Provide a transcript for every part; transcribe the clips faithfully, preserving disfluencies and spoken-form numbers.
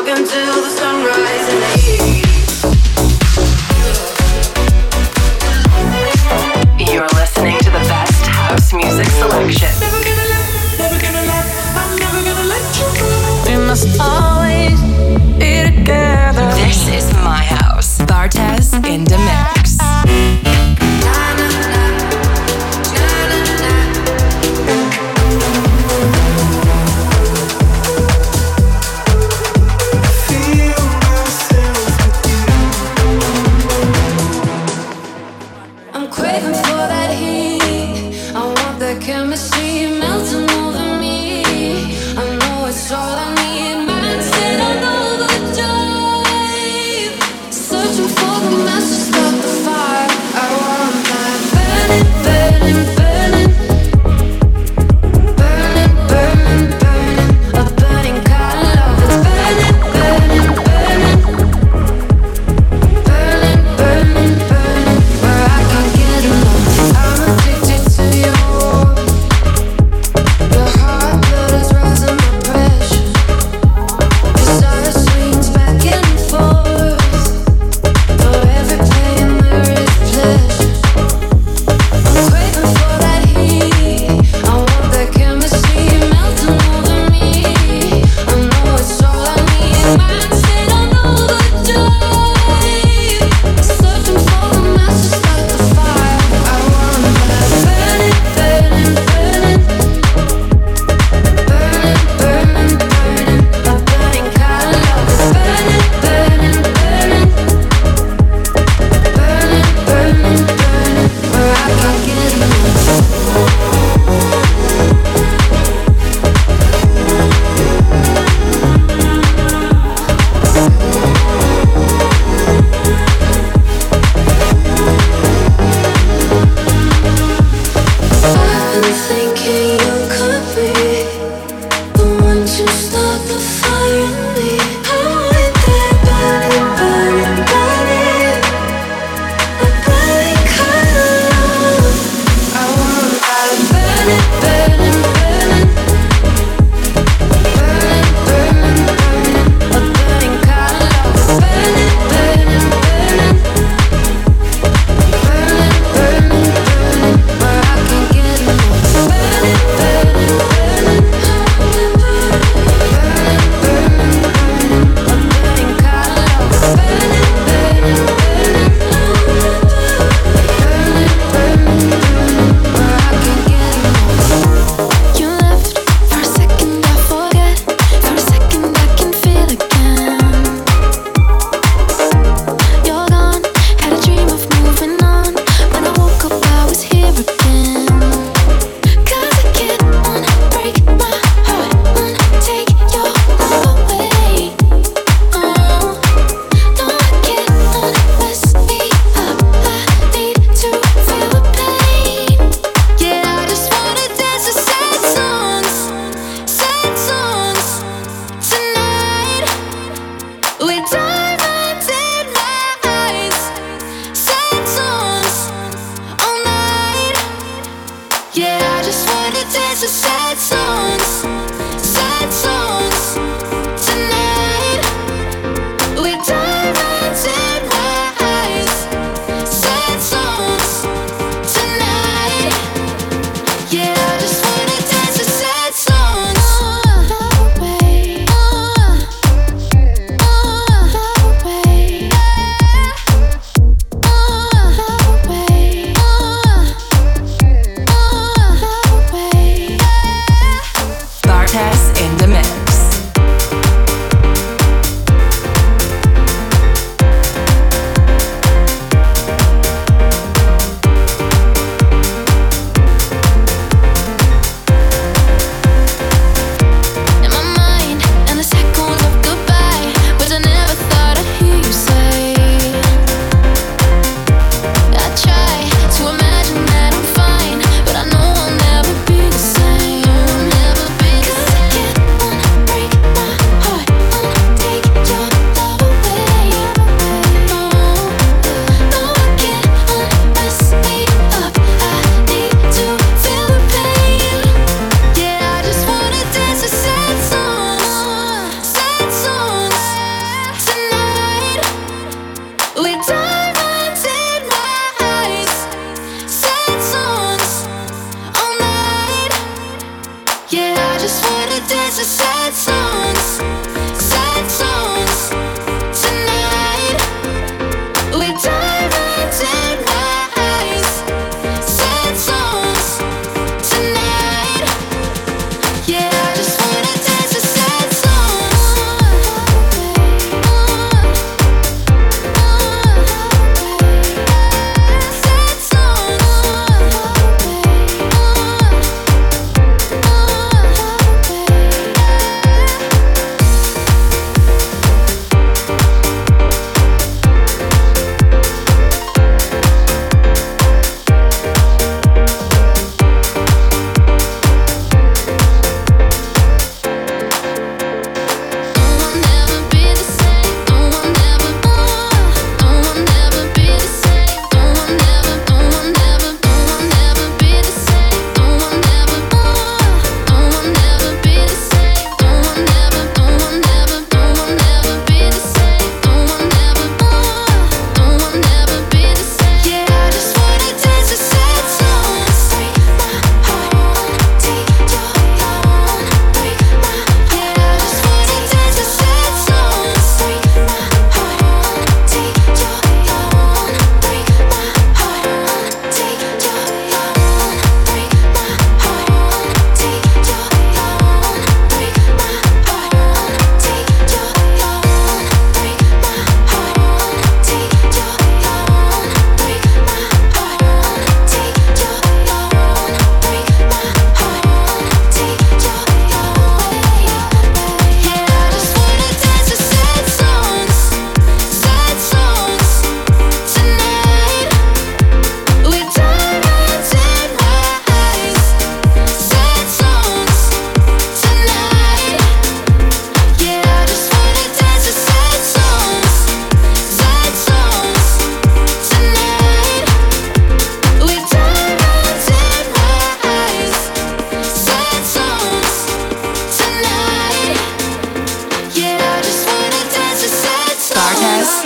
until the sunrise in the east. You're listening to the best house music selection. Never gonna let, never gonna let, I'm never gonna let you go. We must always be together. This is my house. Bartez in the mix. Craving for that heat, I want that chemistry.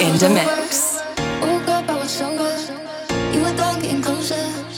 in the mix. Woke up, I was stronger. You were gone, getting closer.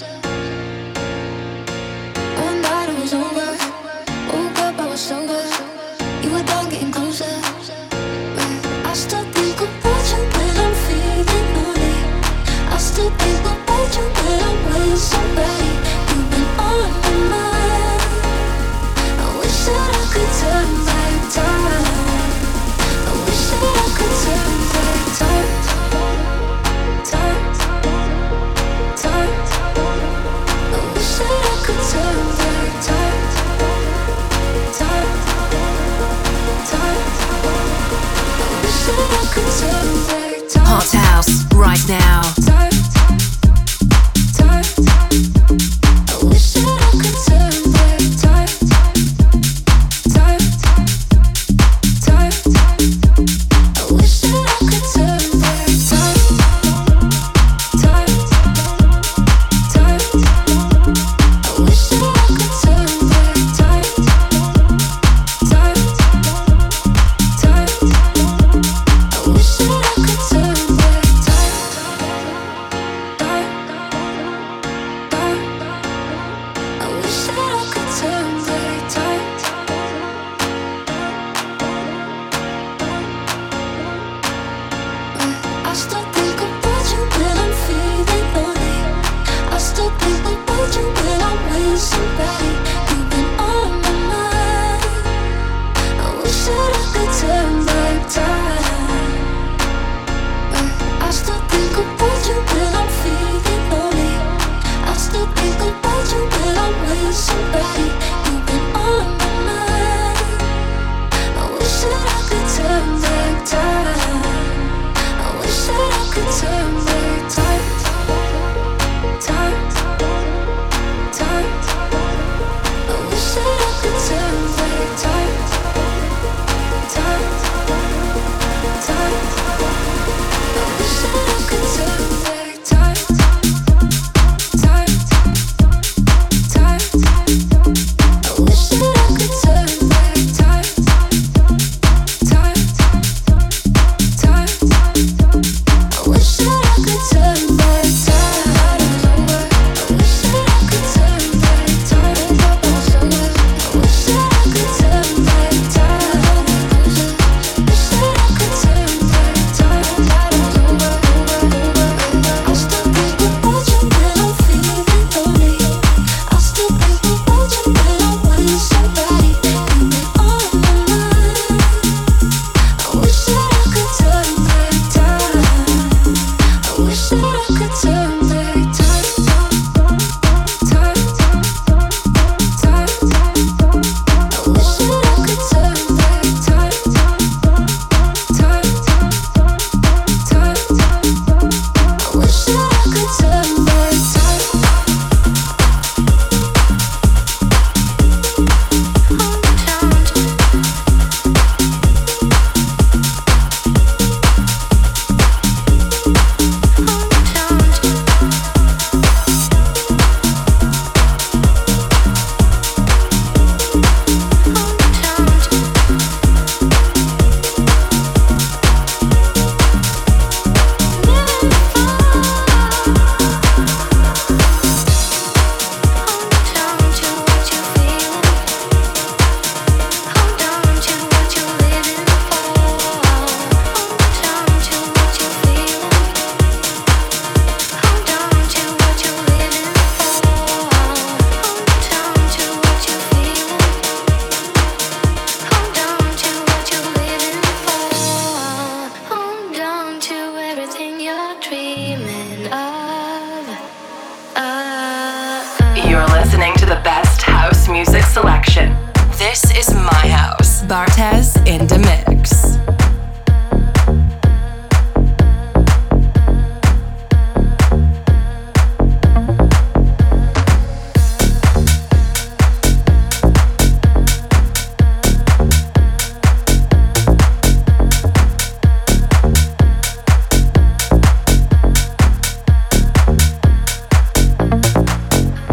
One night it was over. Woke up, I was stronger. You were gone, getting closer. But I still think about you when I'm feeling lonely. I still think about you when I'm with somebody. You've been on my mind. I wish that I could turn back time. I wish that I could turn back time. Time, time. I wish that I could turn back time. Time, time. I wish that I could turn back time. Hot house right now. Time, time. I wish that I could turn back time. Time, time. I wish that I could turn back time. Time, time. I wish that I could turn back time. Time, time. I wish that I could turn back time. Time, time. I wish that I could turn back time. I still think about you when I'm feeling lonely. I still think about you when I'm with somebody. You've been on my mind. I wish that I could turn back time. I still think about you when I'm feeling lonely. I still think about you when I'm with somebody. You've been on my mind. I wish that I could turn back time. I wish that I could turn back time. Time, time. I wish that I could turn back time. Time, time. I wish that I could turn back time. Time, time. I wish that I could turn back time. Time, time. I wish that I could turn back time. I wish that I could turn back time. I wish that I could turn back time. Wish that I could turn back time. I still think about you when I'm feeling lonely. I still think about you when I'm with somebody. You've been on my mind. I wish that I could turn back time. I wish that I could turn back time. Time, time. I wish that I could turn back time. Time, time. I wish that I could turn back time. Hold on to everything you're dreaming of. Uh, You're listening to the best house music selection. This is my house. Bartez in the mix.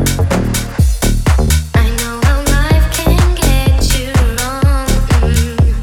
I know how life can get you wrong. Mm.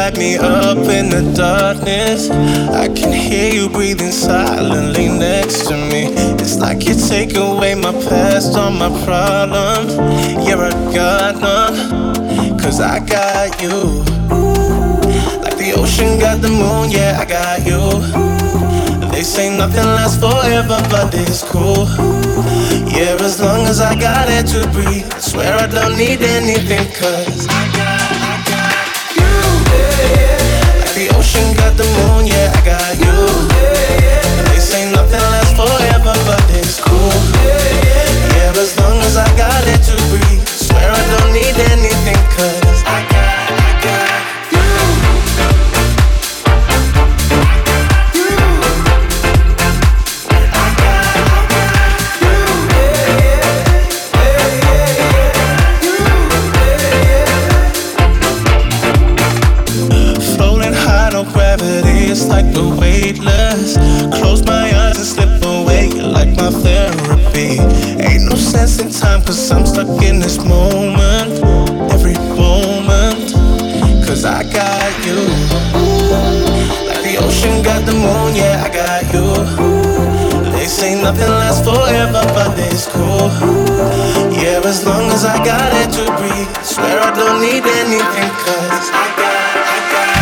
light me up in the darkness. I can hear you breathing silently next to me. It's like you take away my past, all my problems. You're a god, none, cause I got you. Like the ocean got the moon, yeah, I got you. They say nothing lasts forever, but it's cool. Yeah, as long as I got it to breathe, I swear I don't need anything, cause I got, I got you. Like the ocean got the moon, yeah, I got you. They say nothing lasts forever, but it's cool. Yeah, as long as I got it to breathe, I swear I don't need anything, cause I got, I got you. It's like the weightless. Close my eyes and slip away. You're like my therapy. Ain't no sense in time, cause I'm stuck in this moment. Every moment, cause I got you. Like the ocean got the moon, yeah, I got you. They say nothing lasts forever, but it's cool. Yeah, as long as I got it to breathe, I swear I don't need anything, cause I got, I got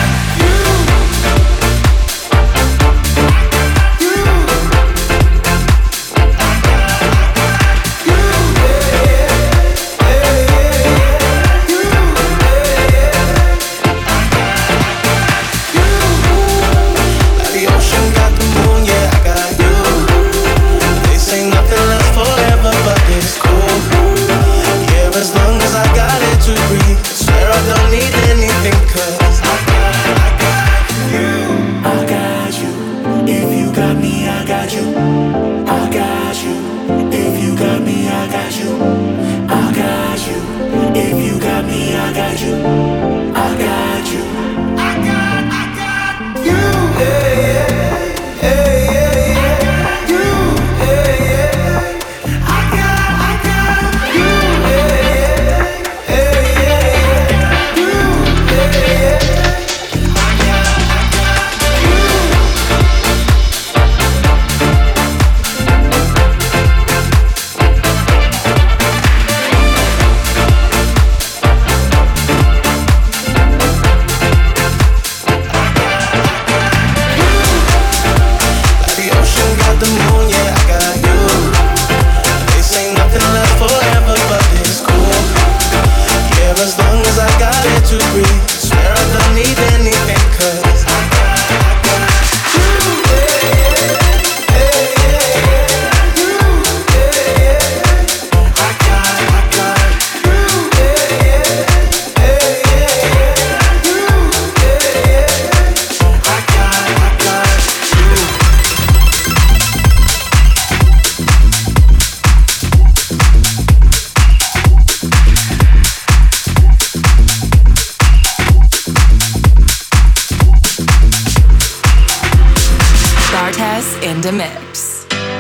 in the mix.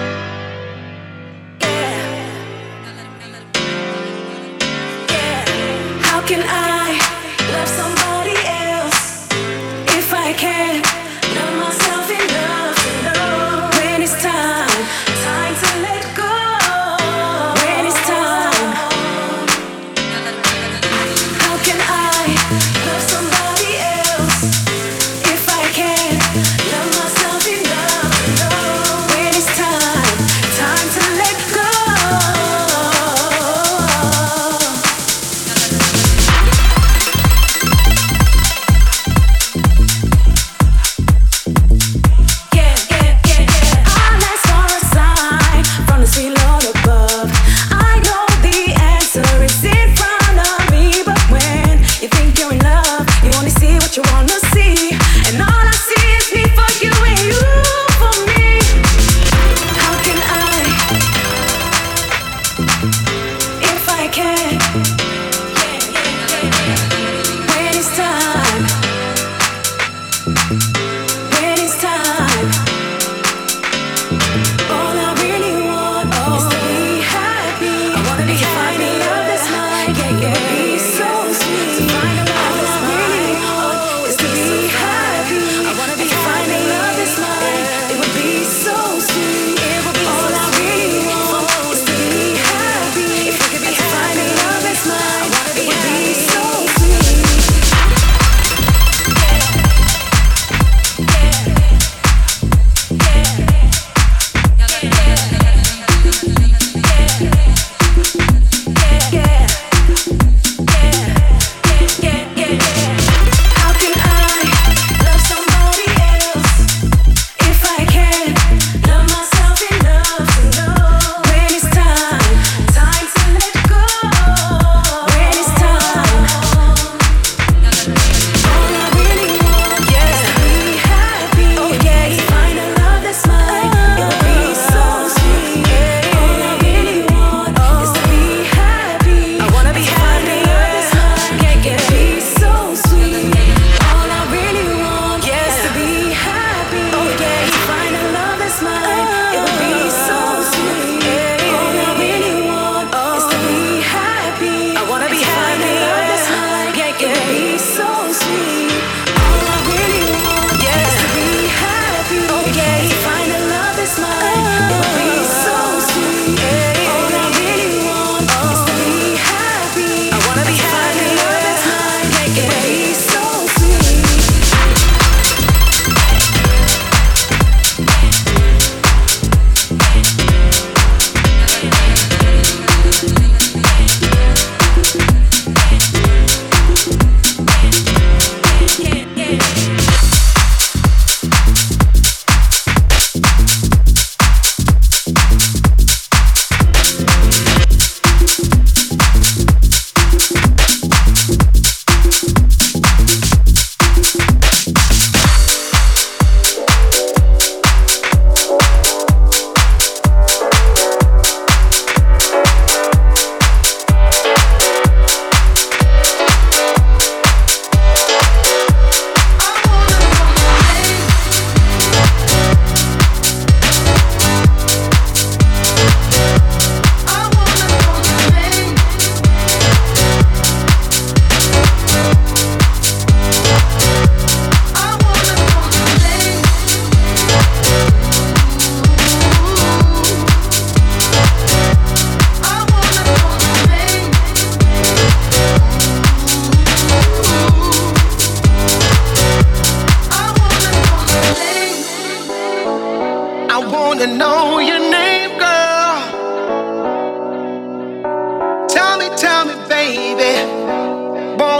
How can I love somebody else if I can't love myself enough to know when it's time, time to let go? When it's time, how can I love somebody else if I can't love myself enough to know when it's time, time to let go?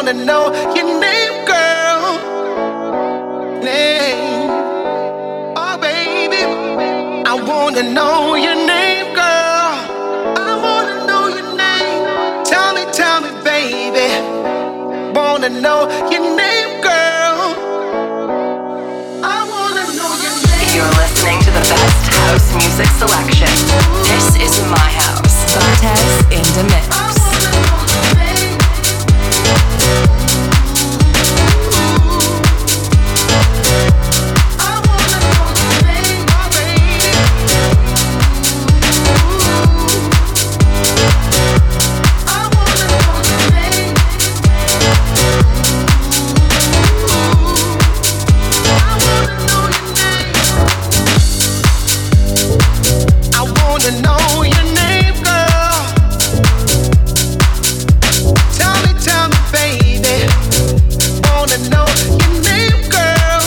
wanna know your name, girl. Name. Oh, baby. I wanna know your name, girl. I wanna know your name. Tell me, tell me, baby. Wanna know your name, girl. I wanna know your name. You're listening to the best house music selection. This is my house. Bartez in the mix. Know your name, girl. Tell me, tell me, baby. Wanna know your name, girl.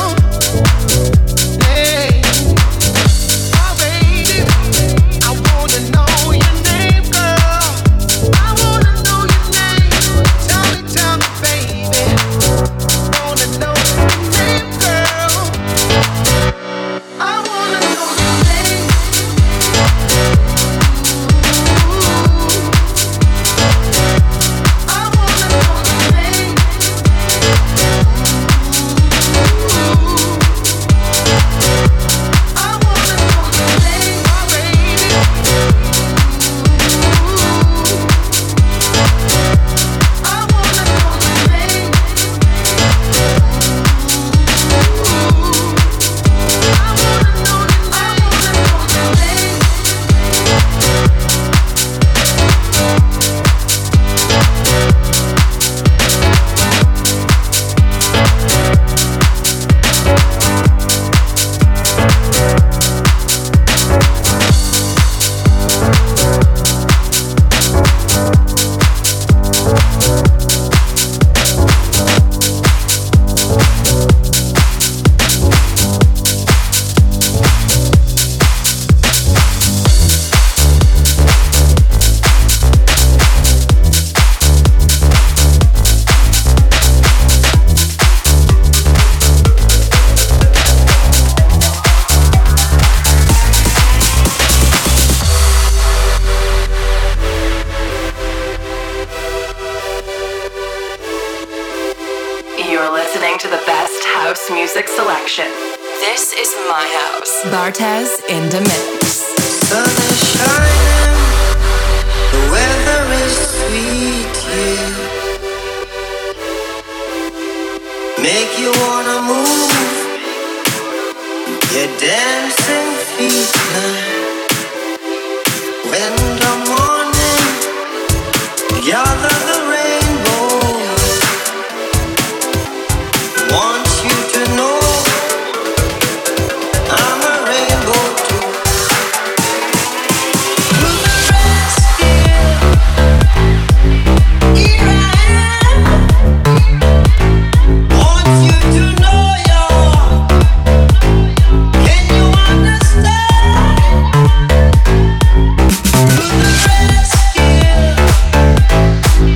Name. Oh, baby. I wanna know your name, girl. I wanna know your name. Tell me, tell me, baby. Wanna know your name, girl. I wanna know your name. Bartez in the mix. Sun is shining, the weather is sweet, yeah. Make you wanna move your dancing feet now. When the morning gather the rainbow, want you to know I'm a rainbow too. To the rescue, here I am. Want you to know you're. Can you understand? To the rescue.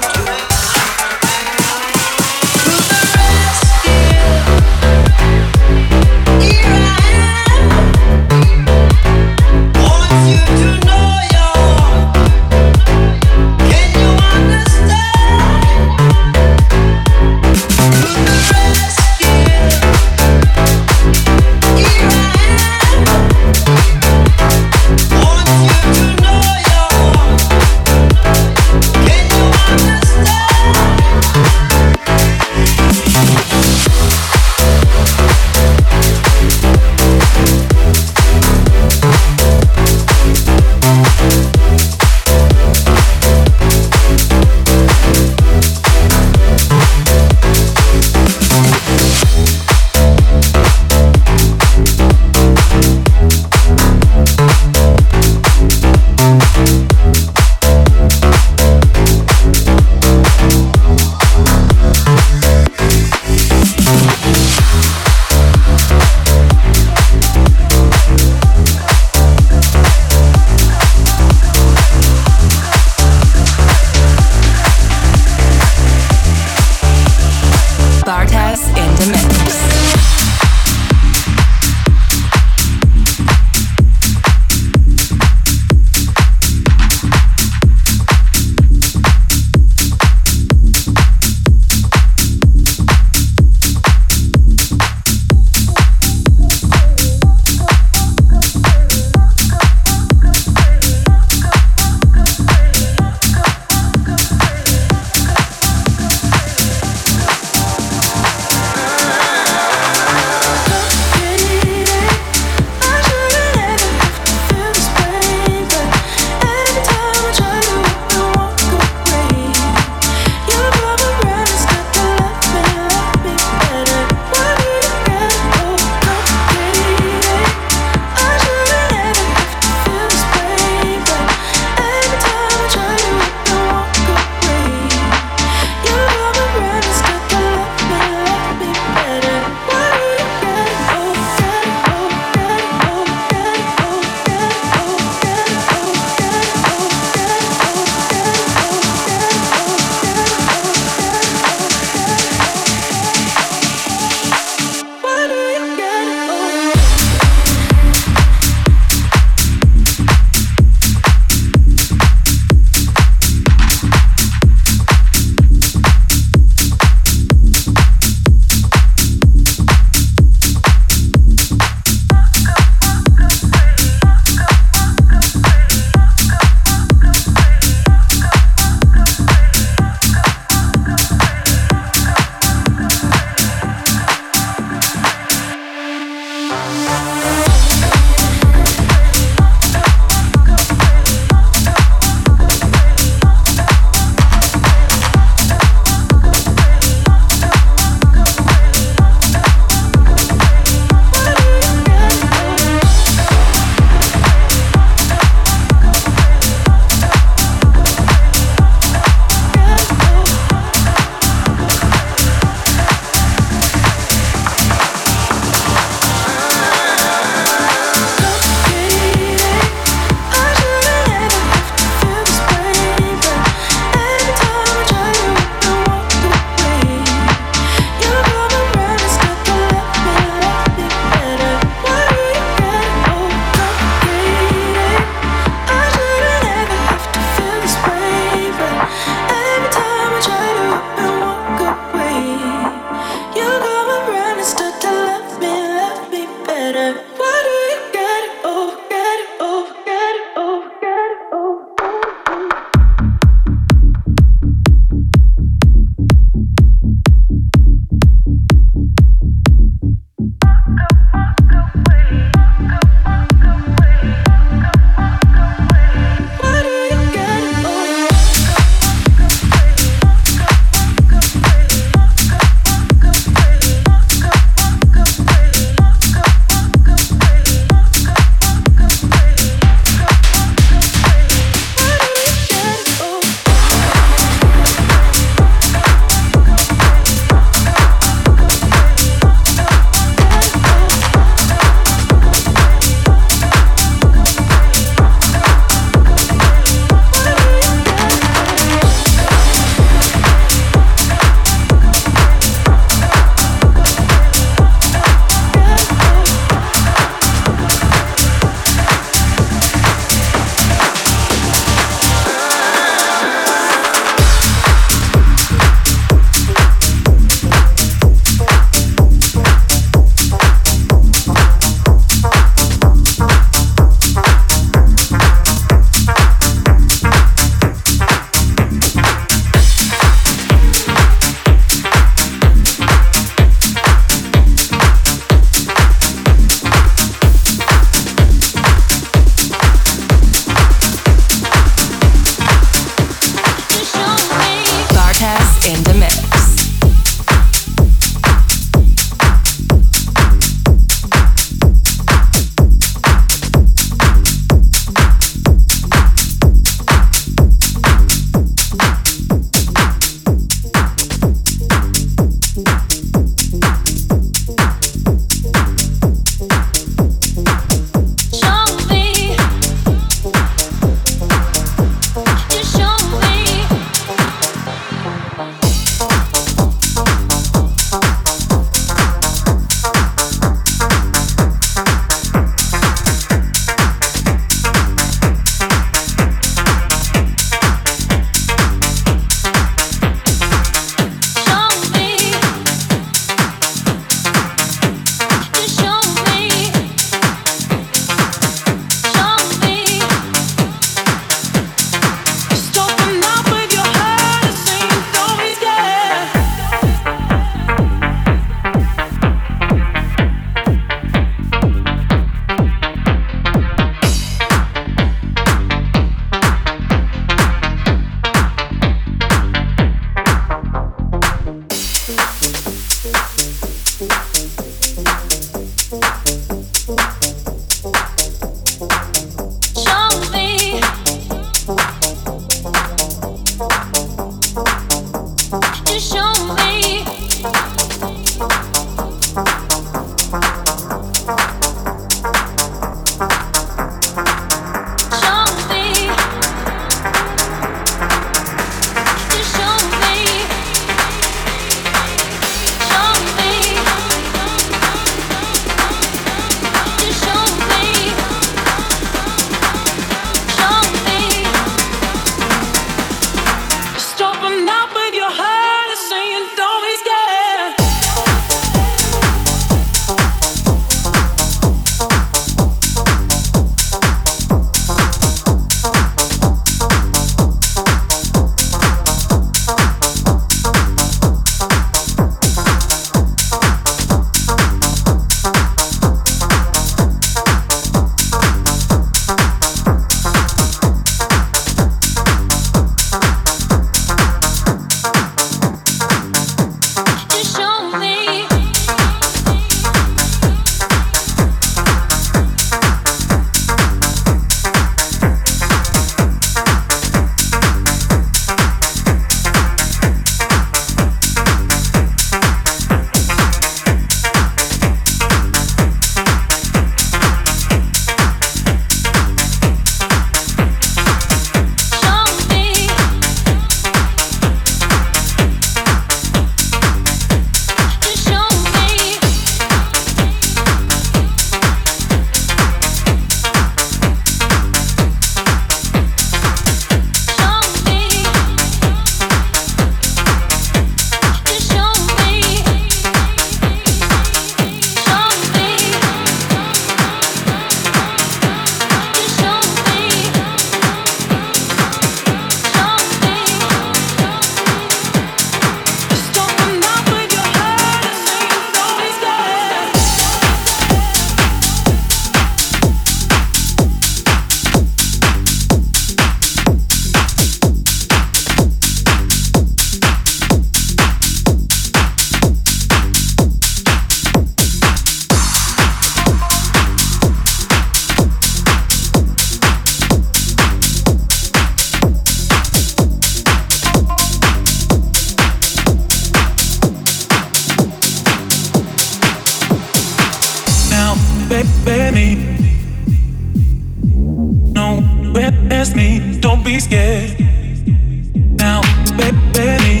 witness me, don't be scared. Now, baby,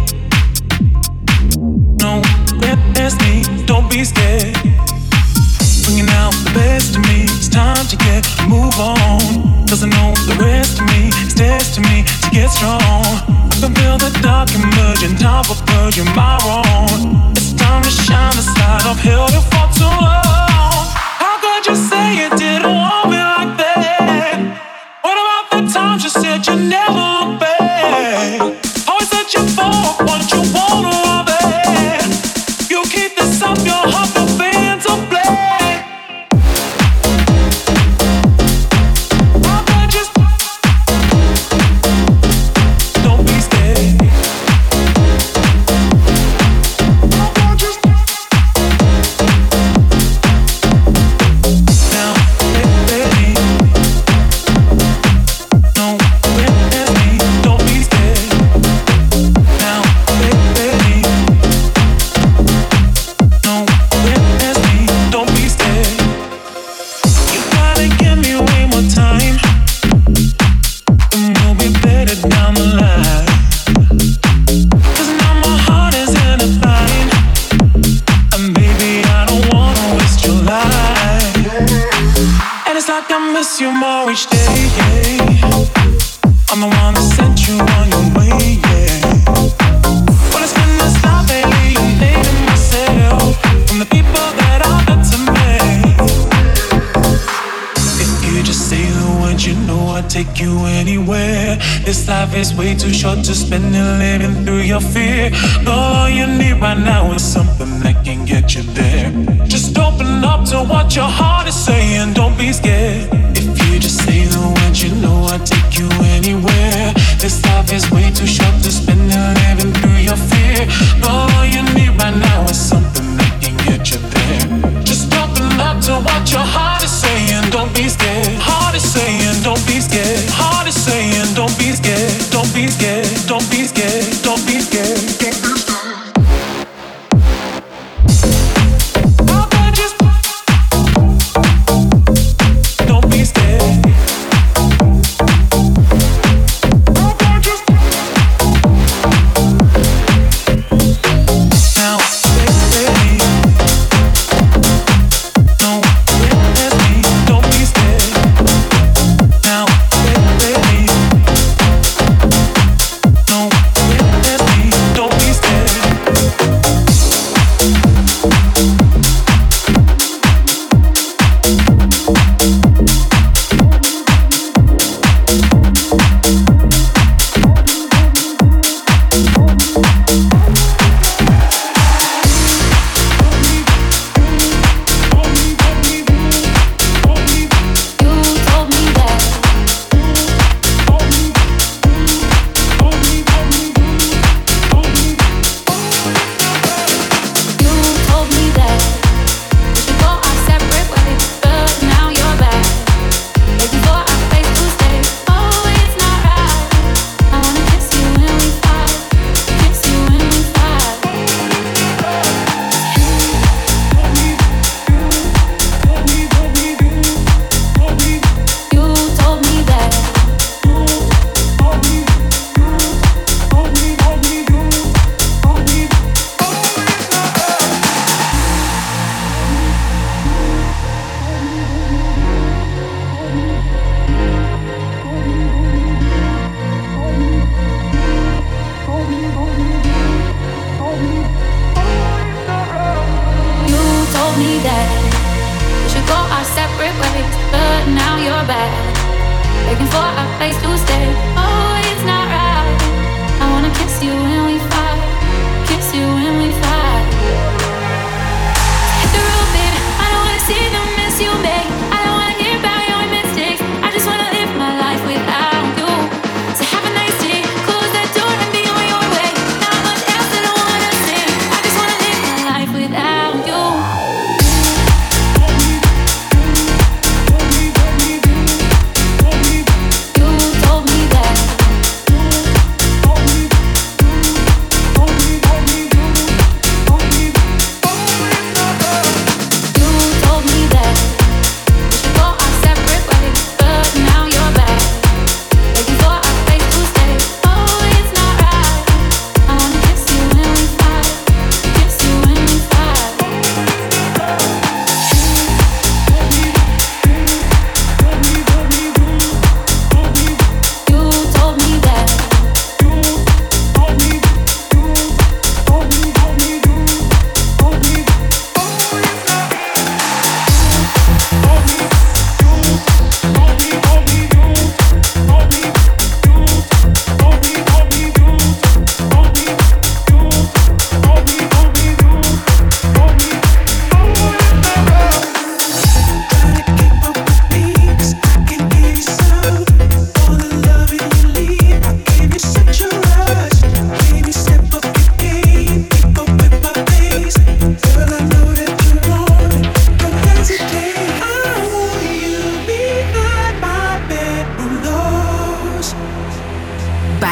no, witness me, don't be scared. Bringing out the best of me, it's time to get move on. Cause I know the rest of me is destiny to get strong. I can feel the dark emerging, time for purging my wrong. It's time to shine the light, I've held it for too long. How could you say you didn't want me like that? What about the times you said you never look back? Always said you for what you want to love it. You keep this up your heart, the fans of black. You more each day, yeah. I'm the one that sent you on your way, yeah. But it's been this life lately, I'm hating myself from the people that I met to me. If you just say the word, you know I'd take you anywhere. This life is way too short to spend it living through your fear. All you need right now is something that can get you there. Just open up to what your heart is saying, don't be scared. You just say the word, you know I'd take you anywhere. This life is way too short to spend it living through your fear. All you need right now is something that can get you there. Just open up to what your heart is saying, don't be scared. Heart is saying, don't be scared. Heart is saying, don't be scared. Don't be scared, don't be scared, don't be scared. Don't be scared.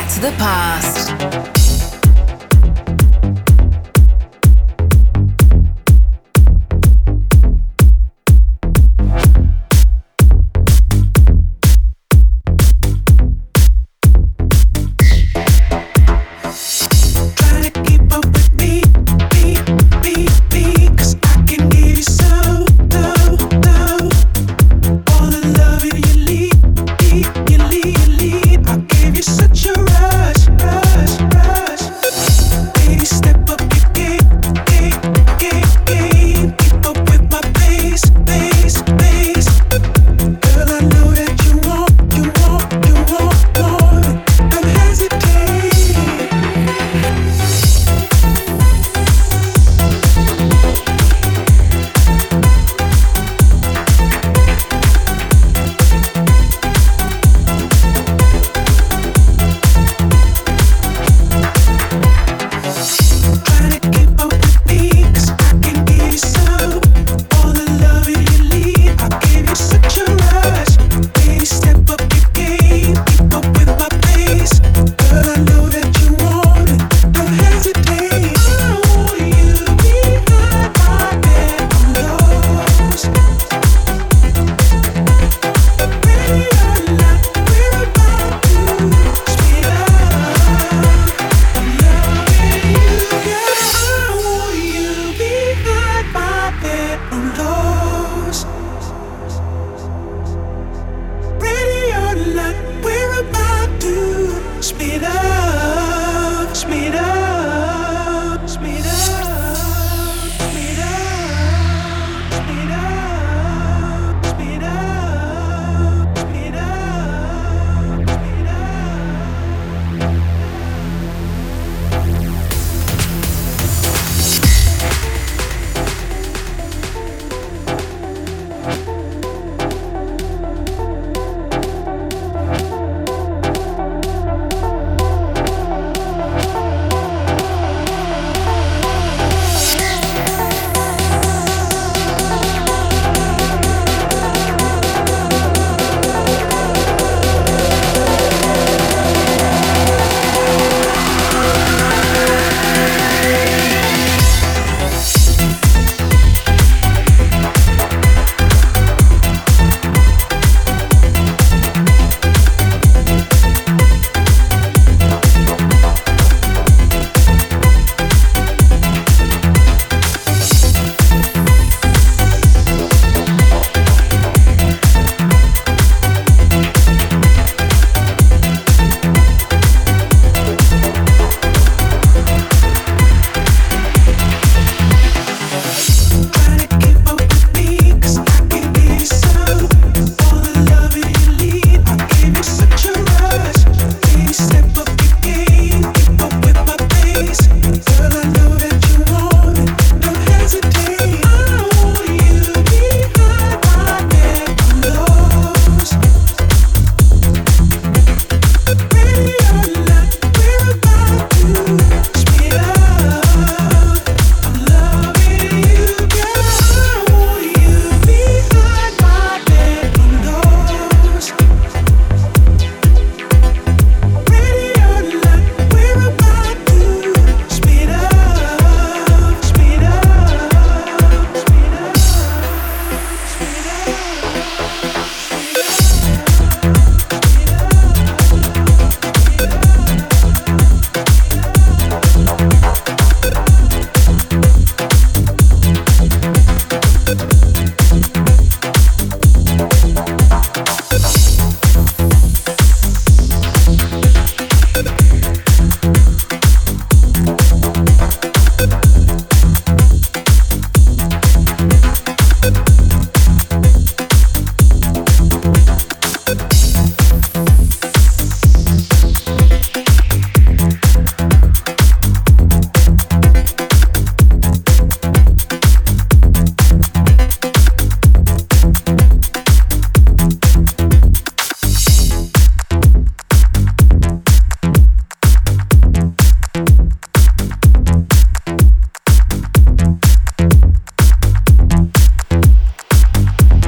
back to the past.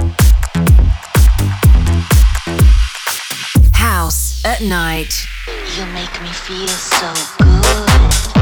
at night. You make me feel so good.